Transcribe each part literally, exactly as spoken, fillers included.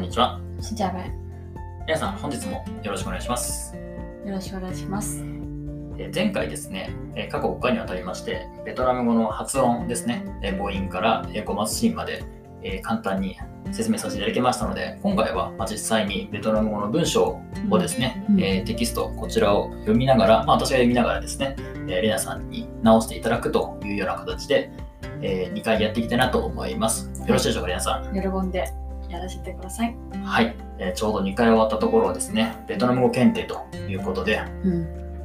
んにちは。 しんちゃべ。 皆さん、本日もよろしくお願いします。 よろしくお願いします。 え前回ですね、え過去ごかいにわたりまして、ベトナム語の発音ですね、え母音からえ語末子音まで、え簡単に説明させていただきましたので、今回はまあ実際にベトナム語の文章をですね、 うんえーテキスト、こちらを読みながら、まあ、私が読みながらですね、えーレナさんに直していただくというような形で、えーにかいやっていきたいなと思います。よろしいでしょうか、レナさん。 喜んでやらせてください。 はい、えーちょうどにかい終わったところをですね、ベトナム語検定ということで、 うん。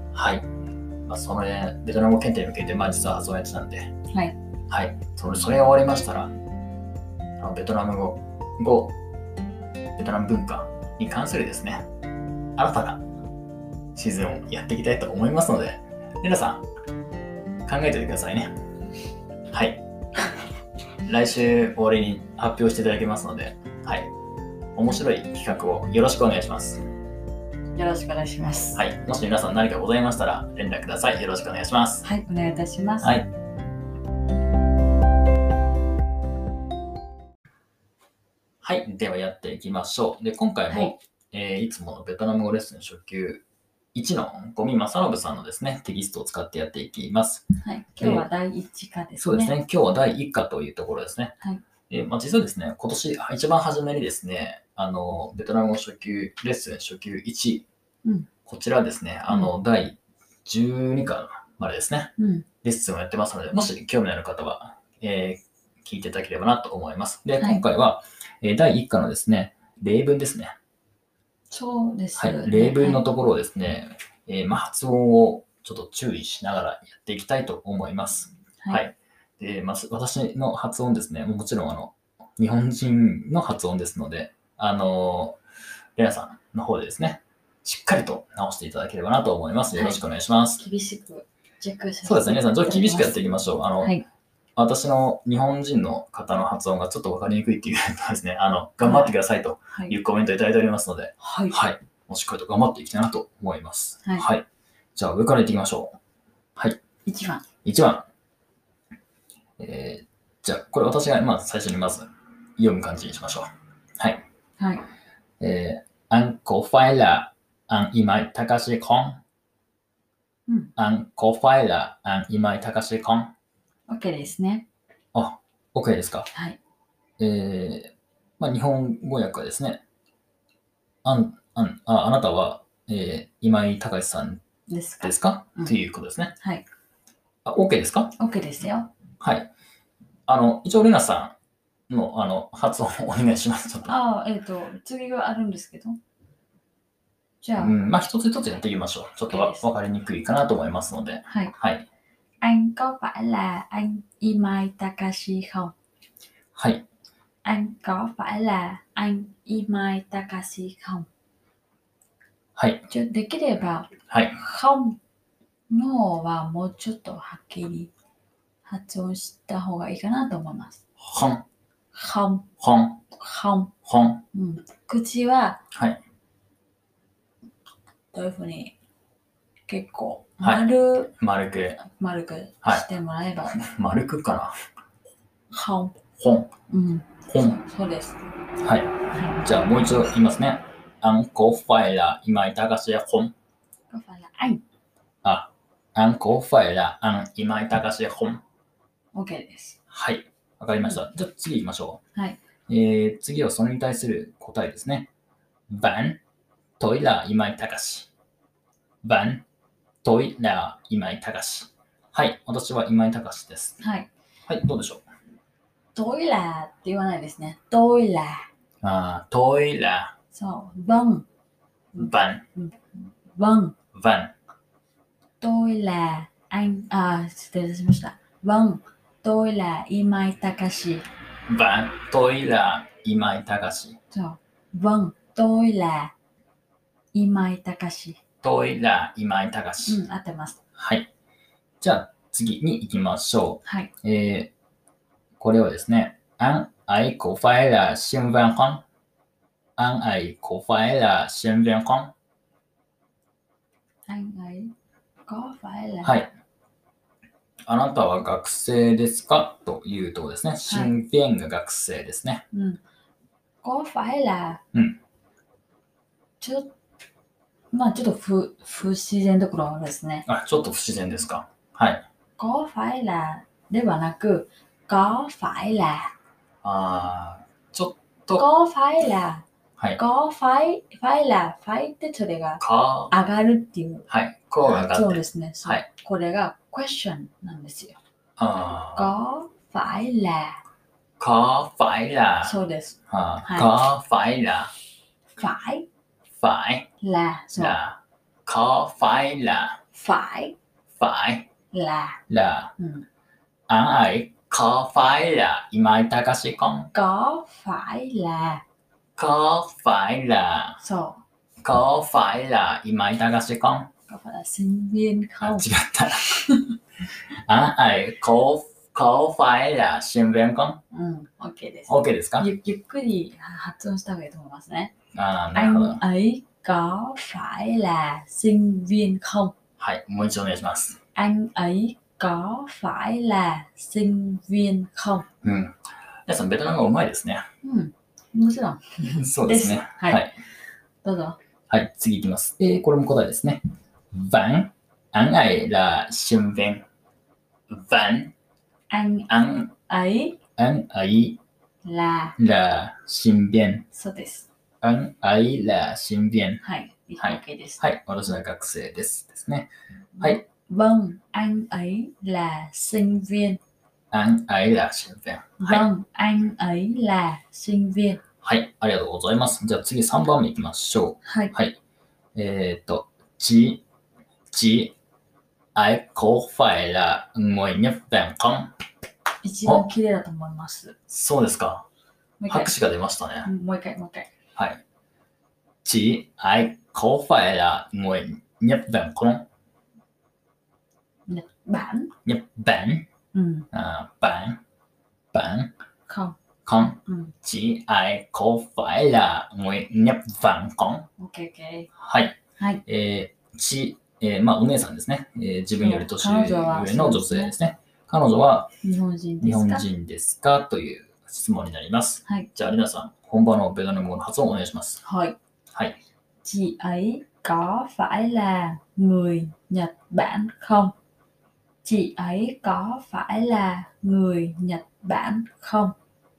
はい、まあ、その、ね、ベトナム語検定に向けて、まあ、実は発音やってたんで、 はい。 はい、それ、それが終わりましたら、あのベトナム語、語、ベトナム文化に関するですね、新たなシーズンをやっていきたいと思いますので、皆さん、考えておいてくださいね。はい。来週終わりに発表していただきますので、はい。面白い企画をよろしくお願いします。 よろしくお願いします。 はい。もし皆さん何かございましたら連絡ください。よろしくお願いします。 はい、お願いいたします。 はい。はい。ではやっていきましょう。で、今回も、 はいえーいつものベトナム語レッスン初級いちの五味正信さんのですね、テキストを使ってやっていきます。 はい。今日はだいいち課ですね。 そうですね。今日はだいいっ課というところですね。 はい。 えーまあ、実はですね、今年一番初めにですね、あの、ベトナム語初級レッスン初級いち、 うん、 こちらですね、あの、だいじゅうに課までですね、 うん、 レッスンをやってますので、もし興味のある方は、えー聞いていただければなと思います。で、 はい今回は、えーだいいっ課のですね、例文ですね。 そうですね。 はい、例文のところをですね、えーまあ、発音をちょっと注意しながらやっていきたいと思います。 はい。 はい。で、まあ、私の発音ですね、もちろんあの、日本人の発音ですので、あの、レナさんの方でですね、しっかりと直していただければなと思います。よろしくお願いします。 厳しくチェックさせてそうですね、皆さん、ちょっと厳しくやっていいきましょう。あの、 はい。 私の日本人の方の発音がちょっとわかりにくいっていうとですね、あの、頑張ってくださいとはいいうコメントいただいておりますので、 はい。 はい。もうしっかりと頑張っていきたいなと思います。 はいじゃあ、上からいっていきましょう。はい。 いちばん。 いちばん。えー、じゃあ、これ私が、まあ、最初にまず読む感じにしましょう。はい。 はい。 えー、anh có phải là anh Imai Takashi không? うん。 anh có phải là anh Imai Takashi không? OK ですね。 あ、OK ですか。 はい。 えー、まあ、日本語訳はですね、あん、あん、あ、あなたは、えー、今井隆さんですか。 ですか、 うんということですね。 はい。 あ、OK ですか。 OK ですよ。 はい。あの、一応、レナさんの、あの、発音をお願いします。ちょっと。 ああ、えっと、次があるんですけど。じゃあ、 うん、まあ、一つ一つやっていきましょう。ちょっとわ OK ですわかりにくいかなと思いますので。 はい。 はい。 Anh có phải là anh Imai Takashi không? はい。 Anh có phải là anh Imai Takashi không? はい。 ちょできれば、 はい。 không の方はもうちょっとはっきり発音した方がいいかなと思います。 ほん、 không、 ほん、 không、 ほん。 うん、口ははい。 どういうふうに結構はい丸、 丸く、 丸くしてもらえば、 丸くかな。 không、 ほん、 うん、 ほん。 そうです。 はい。 はじゃあ、もう一度言いますね。anh có phải là Imai Takashi không? い。có phải là anh。 あ、anh có phải là anh Imai Takashi không? OK です。 はい。わかりました。じゃあ次行きましょう。はい。 えー、次はそれに対する答えですね。Bạn, tôi là Imai Takashi. Bạn, tôi là Imai Takashi. はい。私は今井隆です。 はい。 はい。どうでしょう。 トイラって言わないですね。トイラ。 あ、tôi là そう。vâng。 Bạn, vâng。 Bạn. tôi là anh。あ、失礼しました。vâng。tôi là Imai Takashi。 Bạn, tôi là Imai Takashi. そう。vâng。tôi là Imai Takashi。 tôi là Imai Takashi。 うん、合ってます。 はい。じゃあ次に行きましょはい。 う。えー、これはですね、anh ấy có phải là sinh viên không? anh ấy có phải là sinh viên không? anh ấy có phải là。 はい。あなたは学生ですかというところですね。新viênが学生ですね。 うん。 có phải là うん。 ちょっと、まあちょっと不不自然なところですね。 あ、ちょっと不自然ですか。はい。 có phải là ではなく、có phải là あー、ちょっと、 có phải là はい。 có phải phải là phải ってそれがか、 上がるっていうはい。こうが上がってる。 そうですね。そうはい。 これが question なんですよ。 あー、 có phải là có phải là, そうです。 あー、 はい。 có phải là, phải phải là そう là, có phải là, phải phải là là, うん、 anh ấy có phải là Imai Takashi không? có phải là Có phải là, そう có phải là Imai Takashi không? có phải là sinh viên あ、違 không った。anh ấy có, có phải là sinh viên không? うん OK です。 OK ですか？ ゆゆっくり発音した方がいいと思いますね。 あー、なるほど。 anh ấy có phải là sinh viên không? はい、もう一度お願いします。 anh ấy có phải là sinh viên không? うん。皆さん、ベトナム語うまいですね。 うん、もちろん。 そうですね。 ですはいはい。 どうぞ。 はい、次いきます。えー、これも答えですね。Vẫn, anh ấy là sinh viên. Vẫn, anh anh, ấy anh ấy là là sinh viên. そうです。 anh ấy là sinh viên. はい。 はい OK です。 はい、私は学生です。ですね。はい。 vâng, anh ấy là sinh viên. anh ấy là sinh viên. はい。 vâng, anh ấy là sinh viên. はい、ありがとうございます。じゃあ次さんばんめいきましょう。 はい。 はい。えーっと、chị, chị ấy có phải là người Nhật Bản không? 一番綺麗だと思います。 そうですか。 もう一回。 拍手が出ましたね。 もう一回、もう一回。 はい。chị ấy có phải là người Nhật Bản không? Nhật Bản. Nhật Bản, うん。 à, Bản, Bản không. không? うん。 chị ấy có phải là người Nhật Bản không? OK, OK. はい。 はい。 えー、ち、えー、まあ、お姉さんですね。えー、自分より年上彼女はの女性ですね。彼女は日本人で日本すか？ 人ですかという質問になります。 はい。 じゃあ、リナさん、本場のベトナム語の発音をお願いします。 はい。 はい。 chị ấy có phải là người Nhật Bản không? chị ấy có phải là người Nhật Bản không?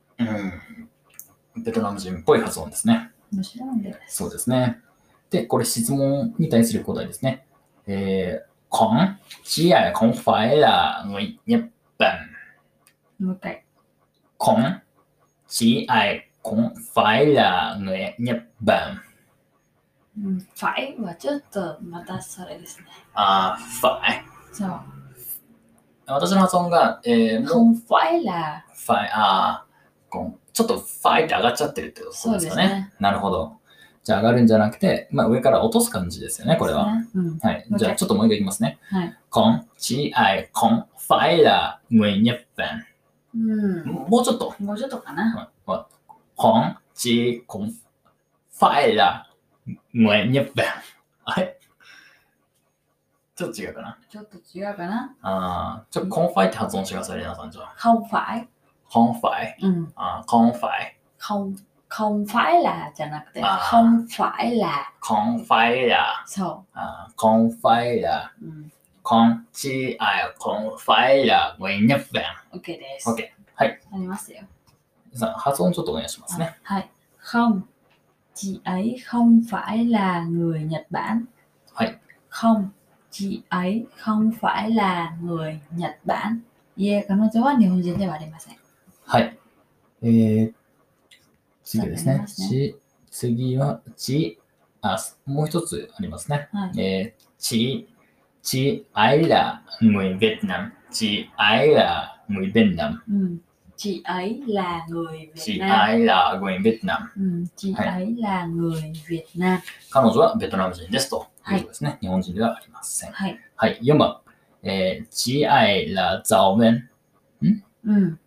うん。ベトナム人っぽい発音ですね。 面白いです。 そうですね。で、これ質問に対する答えですね。えー、con, chị ấy không phải là người Nhật Bản. もう一回。 con, chị ấy không phải là người Nhật Bản. うん、phải はちょっとまたそれですね。 あー、phải。 そう。 私の発音が、えー、もう、 không phải là phải、あー、こうちょっと phải って上がっちゃってるってことですかね。 そうですね。 なるほど。じゃあ上がるんじゃなくて、まあ、上から落とす感じですよね、これは。 ね、うん。 はい。 もう一回じゃあちょっともう一回いきますね。 はい。 con, chị ấy không phải là người Nhật Bản. うん。 もうちょっと。 もうちょっとかな。 con, chị không phải là người Nhật Bản. あれちょっと違うかな。 ちょっと違うかな。 あー、ちょっとコンファイって発音してください、レナさんじゃあ。 không phải コンファイ。 うん。 あー、コンファイ。 không không phải là じゃなくて、 あー không phải là コンファイラそー。あー、コンファイラう。うん。 ー。コンチアイコンファイラー。ウィンニャッフェン。 OK です。 OK。はい。 ありますよ。 さあ、発音ちょっとお願いしますね。 はい。không chị ấy không phải là người Nhật Bản. はい。 không chị ấy không phải là người Nhật Bản. いえ、彼女は日本人ではありません。 はい。えー、次ですね。 ありますねち、次は、ち、あ、もう一つありますね。 はい。 えー、ち、chị ấy là người Việt Nam. chị ấy là người Việt Nam. うん。chị ấy là người Việt chị Nam. ấy là người Việt Nam. うん。chị はい ấy là người Việt Nam. 彼女はベトナム人ですということですね。日本人ではありません。 はい。 はい。よんばん。えー、chị ấy là giáo viên. うん。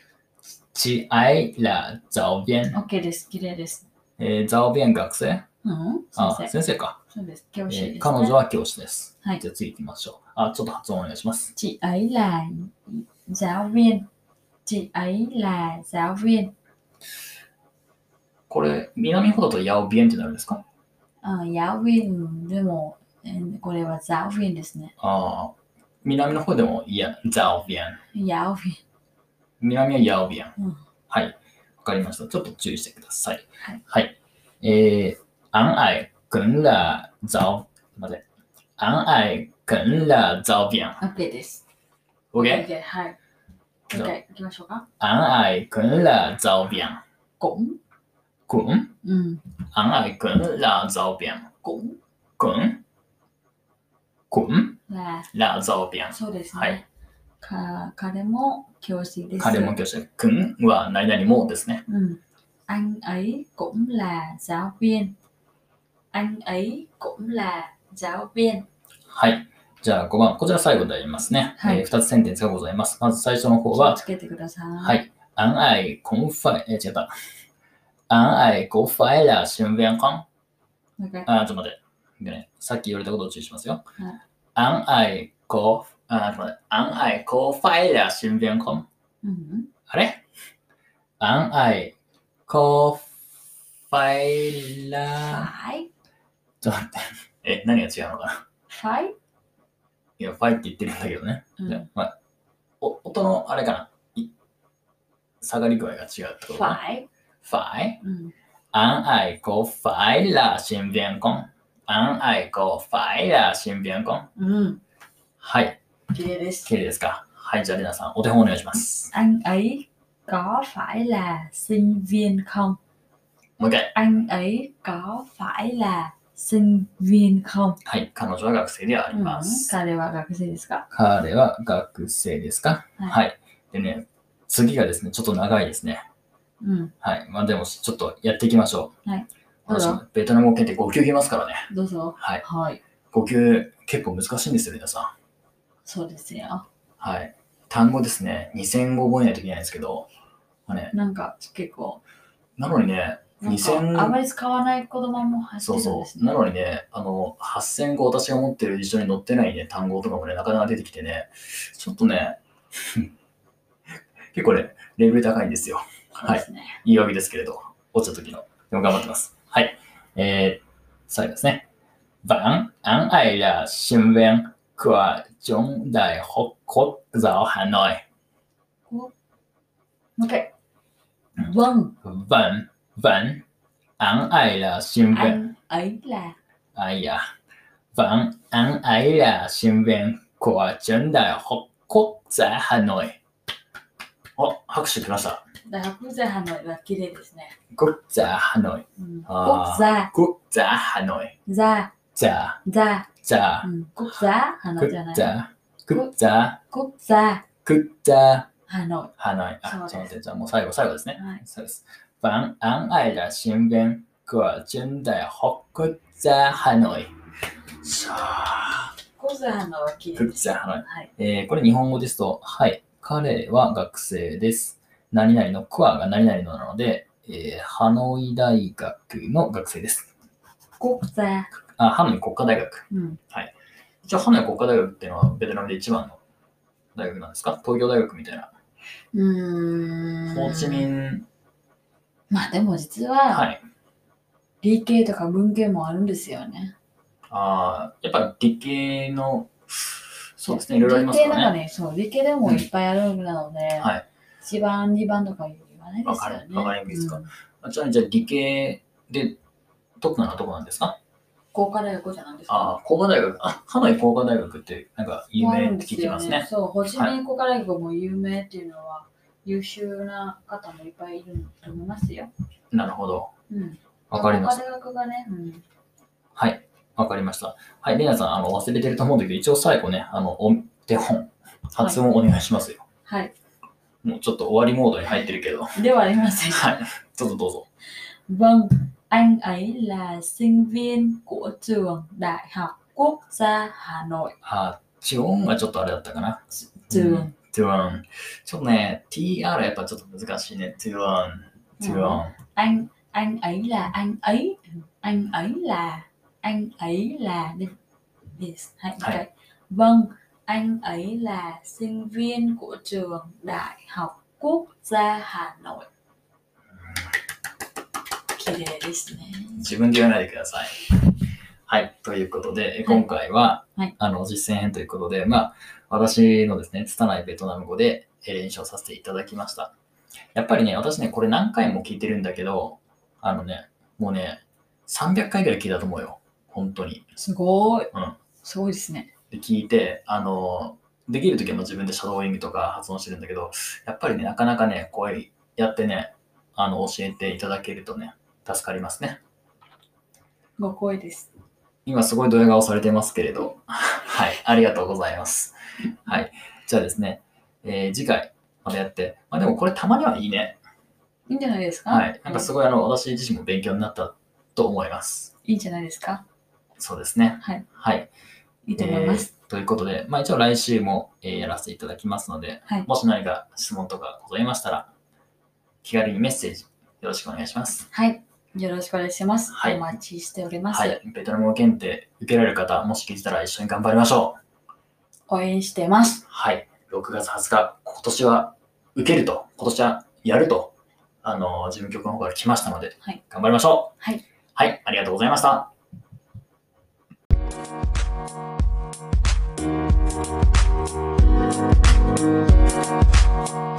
chị ấy là giáo viên. OK です。綺麗です。 えー、giáo viên 学生うん。 あ、 先生。 先生か。 そうです。教師です、 えーね。 彼女は教師です。 はいじゃあ次行きましょう。あ、ちょっと発音お願いします。 chị ấy là giáo viên. chị ấy là giáo viên. これ、南ほどとヤオビエンってなるんですか？ あ、giáo viênでも、えーこれは giáo viên ですね。 ああ、南の方でも、いや、ザオビエン。 giáo viên。 南はヤオビエン。 うんはい。わかりました。ちょっと注意してください。 はい。 はい。えー、昂矮跟了早、待って。昂矮跟了早bien。 OK です。 OK？ OK、はい。 じゃあ OK、行きましょうか。 昂矮跟了早bien。 cũng。 滚。 うん。 昂矮跟了早bien。 cũng 滚。滚。 là、 了早bien。 そうですね。 はい。 か彼も教師です。 彼も教師。くんは何々もですね。 うん。anh ấy cũng là giáo viên。anh ấy cũng là giáo viên。 はい。じゃあごばん、こちら最後でやりますね。 はいえー、ふたつセンテンスがございます。まず最初の方は、 気をつけてください。 はい。昂矮公費、えー、違った。昂矮公費了新員工。 Okay。 あ、ちょっと待って。でね、さっき言われたことを注意しますよ。 はい昂矮公、あ、ちょっと待って。昂矮公費了新員工。 うん。 あれ昂矮公費了、 phải。 ちょっと待って。え、何が違うのかな？ phải。 いや、ファイって言ってるんだけどね。 うんじゃあまあ、お音のあれかな、い下がり具合が違うってことかな。 phải。 phải。 うん。 Anh ấy có phải là sinh viên không? Anh ấy có phải là sinh viên không? うん。 はい。 綺麗です。 綺麗ですか？はい。じゃあ、りなさん、お手本お願いします。 anh ấy có phải là sinh viên không？ もう一回。 anh ấy có phải là sinh viên không？ はい。彼女は学生でありまうん、 す。 彼は学生ですか？ 彼は学生ですか？ はいはい。でね、次がですね、ちょっと長いですね。 うん。 はい。まあでも、ちょっとやっていきましょう。 はい。どうぞ私もベトナム語検定ご級いきますからね。 どうぞ。 はい。 はい。 ご級結構難しいんですよ、皆さん。 そうですよ。 はい。単語ですね、にせん語覚えないといけないんですけど、まあね、 なんか結構、 なのにね、 なんにせんかあまり使わない言葉も入ってそうそるんですう。なね。 のにね、あの、はっせん語私が持ってる辞書に載ってないね、単語とかもね、なかなか出てきてね、ちょっとね、結構ね、レベル高いんですよ。はい。 そうですね。 言い訳ですけれど、落ちた時の。でも頑張ってます。はい。えー、最後ですね。Bạn, anh ấy là sinh viên của trường Đại học Quốc giáo Hà Nội. もう一回。 うん Vâng, Vâng, vâng, anh ấy là sinh viên. anh ấy là. À dạ. Vâng, anh ấy là sinh viên của trường Đại học Quốc gia Hà Nội. あ、拍手来ました。 大学国際ハノイは綺麗ですね。 国家ハノイ。 うん、 あー国際、 国家ハノイ。 ザ、 じゃあ、 ザ、 じゃあう、ん、国際ハノイ国じゃない。 家、国家、 国際国家ハノハノイ。あ、 そうですちょっと待って、じゃあもう最後、最後ですね。 はいそうです。Bạn, anh ấy là sinh viên của trường Đại học Quốc gia Hà Nội. さあ、 イ。国際ハノイは綺麗国です。 家ハノイ。 はい。 えー、これ日本語ですと、はい、彼は学生です。何々のクアが何々のなので、えー、ハノイ大学の学生です。 国際。 あ、ハノイ国家大学。 うん。 一応ハノイ国家大学っていうのはベトナムで一番の大学なんですか？東京大学みたいな。 うーん。 ホーチミン、 まあでも実はは、 い。 理系とか文系もあるんですよね。 ああ、やっぱ理系の、そうですね、いろいろありますか理系なんらね。 かね、そう、理系でもいっぱいあるなので、 はい。 いちばん、にばんとか言わないですよね。 わかるわかりますかうんあちなみにじゃあ理系でトップなのはどこなんですか？ 工科大学じゃないですか。 ああ、工科大学。あ、ハノイ工科大学ってなんか有名って聞いてますね。 そう、ホーチミン工科大学も有名っていうのは、優秀な方もいっぱいいると思いますよ。 なるほど。 うん。 わかりました。 工科大学がね、うん。 はい。わかりました。はい。レナさん、あの、忘れてると思うんだけど、一応最後ね、あの、お手本、発音お願いしますよ。 はい。 もうちょっと終わりモードに入ってるけど。 ではありません。 はい。ちょっとどうぞ。 Vâng, anh ấy là sinh viên của trường Đại học Quốc gia Hà Nội. あ、チオンはちょっとあれだったかな。 Trường. トゥオン。ちょっとね、ティーアール やっぱちょっと難しいね。トゥオン。トゥオン。 Anh, anh ấy là anh ấy. Anh ấy là, anh ấy là. Yes. Hãy Hay. cái. Vâng, anh ấy là sinh viên của trường Đại học Quốc gia Hà Nội. 綺麗ですね。 自分で言わないでください。はい。ということで、今回は、 はいあの、実践編ということで、まあ、私のですね、拙いベトナム語で練習をさせていただきました。やっぱりね、私ね、これ何回も聞いてるんだけど、あのね、もうね、さんびゃっかいぐらい聞いたと思うよ。本当に。 すごい。 うん。 すごいですね。 で、聞いて、あの、できるときはもう自分でシャドーイングとか発音してるんだけど、やっぱりね、なかなかね、こうやってね、あの、教えていただけるとね、助かりますね。 ご好意です。 今すごいドヤ顔されてますけれど、はい、ありがとうございます。はい、じゃあですね、えー、次回またやって、まあ、でもこれたまにはいいね。 いいんじゃないですか。 はい、なんかすごいあの、私自身も勉強になったと思います。 いいんじゃないですか。 そうですね。 はい。 はい。 いいと思います。 えー、ということで、まあ、一応来週も、えー、やらせていただきますので、 はい、 もし何か質問とかございましたら、気軽にメッセージよろしくお願いします。 はい。よろしくお願いします。 はい、 お待ちしております。 はい。ベトナム語検定受けられる方、もし聞いてたら一緒に頑張りましょう。 応援してます。 はい。ろくがつはつか、今年は受けると、今年はやると、あの、事務局の方から来ましたので、 はい、 頑張りましょう。はい。 はい。ありがとうございました。Thank you.